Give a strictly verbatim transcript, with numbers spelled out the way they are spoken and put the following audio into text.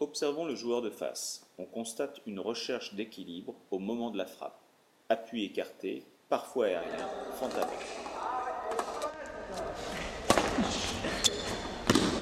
Observons le joueur de face. On constate une recherche d'équilibre au moment de la frappe. Appui écarté, parfois aérien, fente avant.